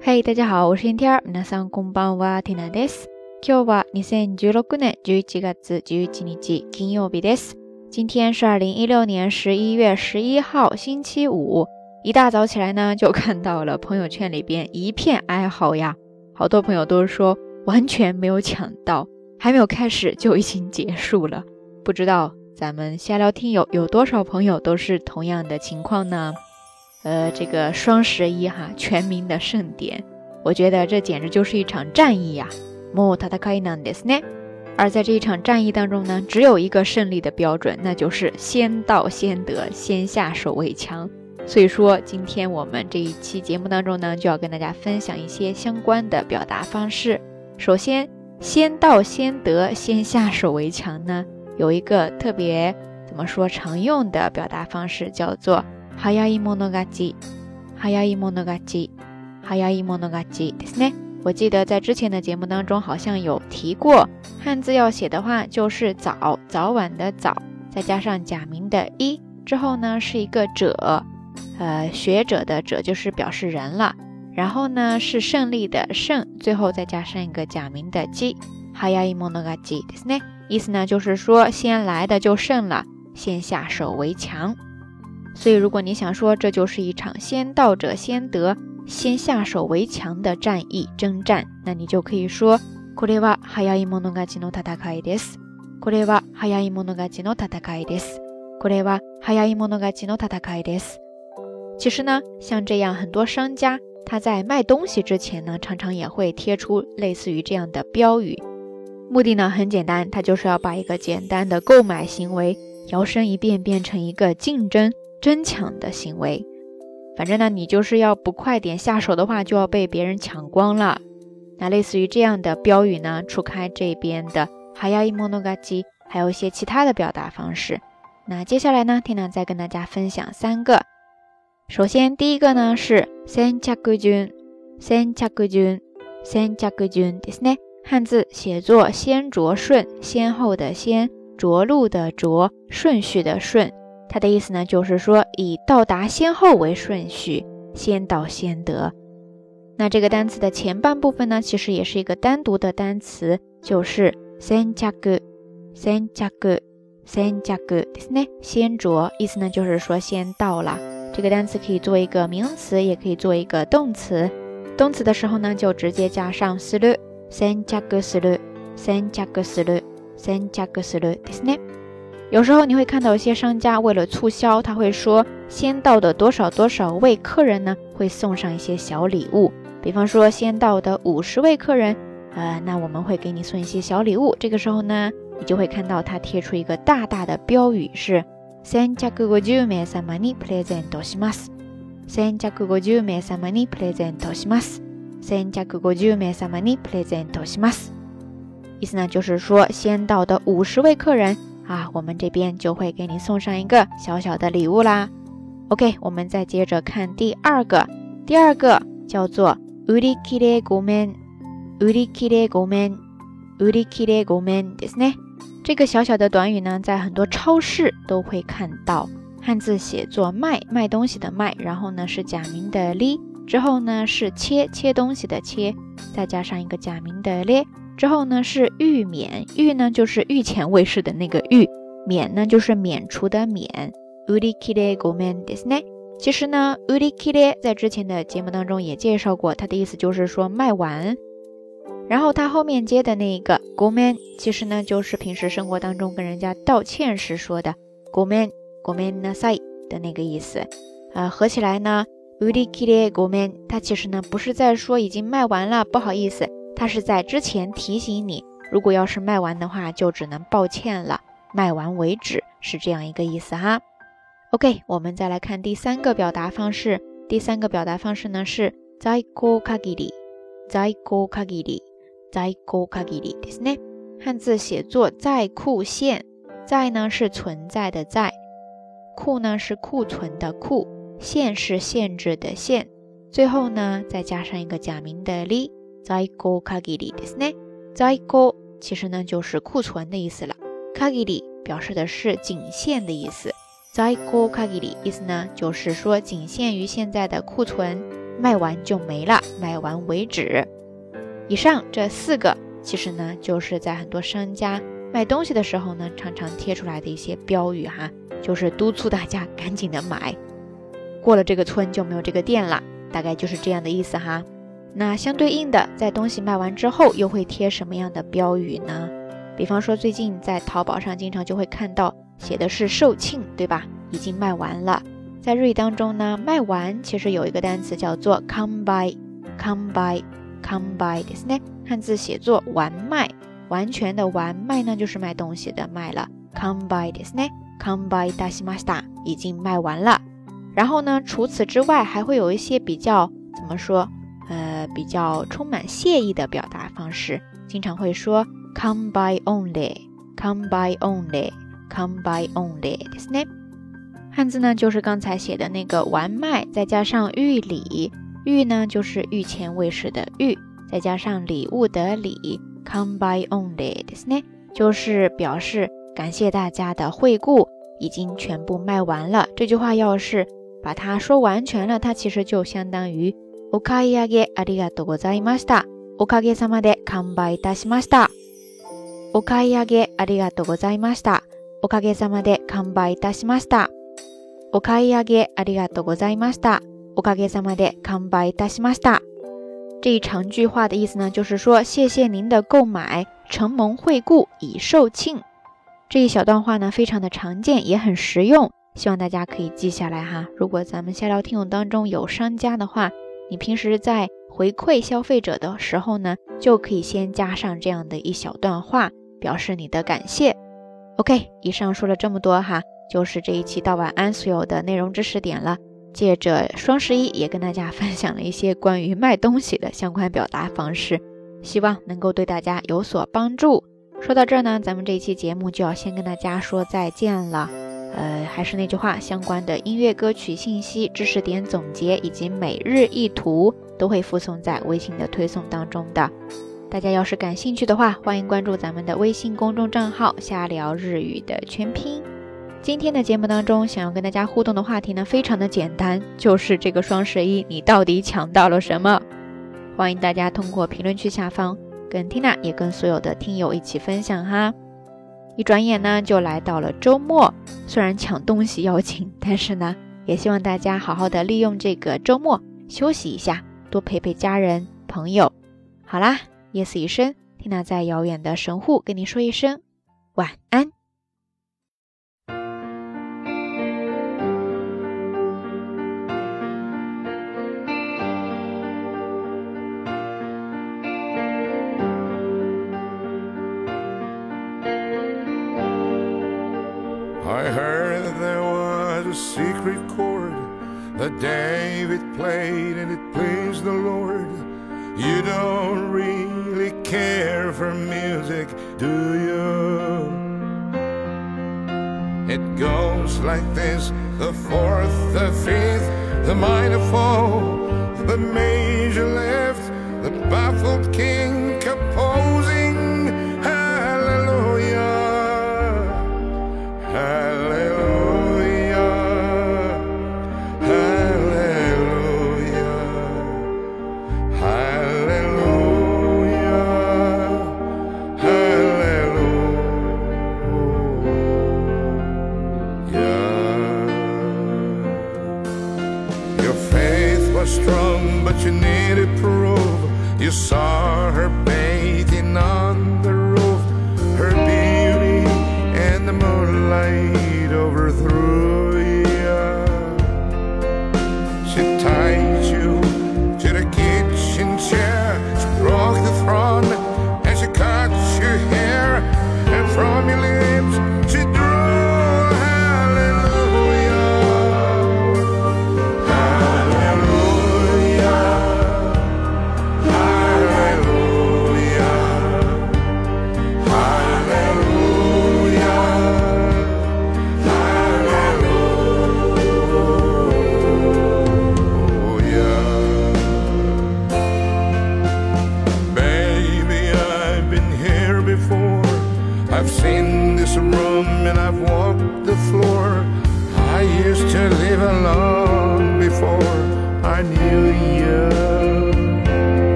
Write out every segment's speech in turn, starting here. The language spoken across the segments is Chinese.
嘿、大家好，我是天天。皆さんこんばんは、ティナです。今日は2016年11月11日金曜日です。今天是2016年11月11号星期五。一大早起来呢，就看到了朋友圈里边一片哀嚎呀，好多朋友都说完全没有抢到，还没有开始就已经结束了。不知道咱们瞎聊听友有多少朋友都是同样的情况呢？这个双11哈，全民的盛典，我觉得这简直就是一场战役呀。もう戦いなんですね。而在这一场战役当中呢，只有一个胜利的标准，那就是先到先得，先下手为强。所以说今天我们这一期节目当中呢，就要跟大家分享一些相关的表达方式。首先，先到先得，先下手为强呢，有一个特别怎么说常用的表达方式，叫做早い者勝ち、早い者勝ち、早い者勝ちですね。我记得在之前的节目当中好像有提过，汉字要写的话就是早，早晚的早，再加上假名的一，之后呢是一个者，学者的者就是表示人了，然后呢是胜利的胜，最后再加上一个假名的击，早い者勝ちですね。意思呢就是说先来的就胜了，先下手为強。所以如果你想说这就是一场先到者先得，先下手为強的战役征战，那你就可以说これは早い者勝ちの戦いです。これは早い者勝ちの戦いです。これは早い者勝ちの戦いです。其实呢，像这样很多商家他在卖东西之前呢，常常也会贴出类似于这样的标语，目的呢很简单，他就是要把一个简单的购买行为摇身一变变成一个竞争争抢的行为。反正呢你就是要不快点下手的话，就要被别人抢光了。那类似于这样的标语呢，除开这边的早い者勝ち，还有一些其他的表達方式。那接下来呢Tina再跟大家分享3个。首先第一个呢是先着順、先着順、先着順ですね。汉字写作先着顺，先后的先，着陆的着，顺序的顺。它的意思呢就是说以到达先后为顺序，先到先得。那这个单词的前半部分呢，其实也是一个单独的单词，就是先着、先着、先着ですね。先着意思呢就是说先到了。这个单词可以做一个名词，也可以做一个动词。动词的时候呢就直接加上する、先着する、先着する、先着するですね。有时候你会看到一些商家为了促销，他会说先到的多少多少位客人呢会送上一些小礼物，比方说先到的50位客人那我们会给你送一些小礼物。这个时候呢你就会看到他贴出一个大大的标语，是先着50名様にプレゼントします。先着50名様にプレゼントします。先着50名様にプレゼントします。意思呢就是说先到的50位客人我们这边就会给你送上一个小小的礼物啦。 OK， 我们再接着看第二个。第二个叫做売り切れごめん、売り切れごめん、売り切れごめんですね。这个小小的短语呢在很多超市都会看到，汉字写作卖，卖东西的卖，然后呢是假名的li，之后呢是切，切东西的切，再加上一个假名的咧，之后呢是预免，预呢就是御前卫士的那个御，免呢就是免除的免。売り切れごめんですね。其实呢売り切れ在之前的节目当中也介紹过，它的意思就是说卖完。然后它后面接的那个ごめん，其实呢就是平时生活当中跟人家道歉时说的ごめん、ごめんなさい的那个意思。合起来呢売り切れごめん，它其实呢不是在说已经卖完了不好意思，它是在之前提醒你，如果要是卖完的话就只能抱歉了，卖完为止，是这样一个意思哈。 OK， 我们再来看第3个表达方式。第3个表达方式呢是在庫限り、在庫限り、在庫限りですね。汉字写作在庫限，在呢是存在的在，库呢是库存的库，限是限制的限，最后呢再加上一个假名的り，在庫限りですね。在庫其实呢就是库存的意思了，限り表示的是仅限的意思。在庫限り意思呢就是说仅限于现在的库存。 卖完就没了，卖完为止。以上这4个其实呢就是在很多商家卖东西的时候呢常常贴出来的一些标语哈，就是督促大家赶紧的买，过了这个村就没有这个店了，大概就是这样的意思哈。那相对应的，在东西卖完之后又会贴什么样的标语呢？比方说最近在淘宝上经常就会看到写的是售罄，对吧？已经卖完了。在日语当中呢，卖完其实有一个单词叫做完売ですね，汉字写作完卖，完全的完，卖呢就是卖东西的卖了，完売ですね，完売いたしました，已经卖完了。然后呢，除此之外还会有一些比较怎么说比较充满谢意的表达方式，经常会说完売onlyですね。汉字呢就是刚才写的那个完卖，再加上御礼，御呢就是御前卫士的御，再加上礼物的礼，完売onlyですね，就是表示感谢大家的惠顾，已经全部卖完了。这句话要是把它说完全了，它其实就相当于お買い上げありがとうございました。おかげさまで完売いたしました。お買い上げありがとうございました。おかげさまで完売いたしました。お買い上げありがとうございました。おかげさまで完売いたしました。这一长句话的意思呢，就是说谢谢您的购买，承蒙惠顾，已售罄。这一小段话呢，非常的常见，也很实用，希望大家可以记下来哈。如果咱们下聊听友当中有商家的话，你平时在回馈消费者的时候呢，就可以先加上这样的一小段话，表示你的感谢。OK， 以上说了这么多哈，就是这一期到晚安所有的内容知识点了。借着双11也跟大家分享了一些关于卖东西的相关表达方式，希望能够对大家有所帮助。说到这儿呢，咱们这一期节目就要先跟大家说再见了。还是那句话，相关的音乐歌曲信息、知识点总结以及每日一图都会附送在微信的推送当中的。大家要是感兴趣的话，欢迎关注咱们的微信公众账号瞎聊日语的全拼。今天的节目当中想要跟大家互动的话题呢，非常的简单，就是这个双11你到底抢到了什么？欢迎大家通过评论区下方跟 Tina 也跟所有的听友一起分享哈。一转眼呢就来到了周末，虽然抢东西要紧，但是呢也希望大家好好的利用这个周末休息一下，多陪陪家人朋友。好啦，夜色已深， Tina 在遥远的神户跟你说一声晚安。 I heard there was a secret chord that David played and it pleased the Lord. You don't really care for music, do you? It goes like this: the fourth, the fifth, the minor fall, the major left, the baffled king composing hallelujah. Strong, but you needed proof. You saw her bathing on the roof, her beauty and the moonlight overthrew you. She tied you to the kitchen chair, she broke the throne and she cut your hair, and from your lips she drew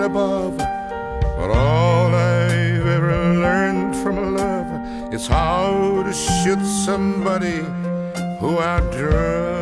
above. But all I've ever learned from love is how to shoot somebody who outdrew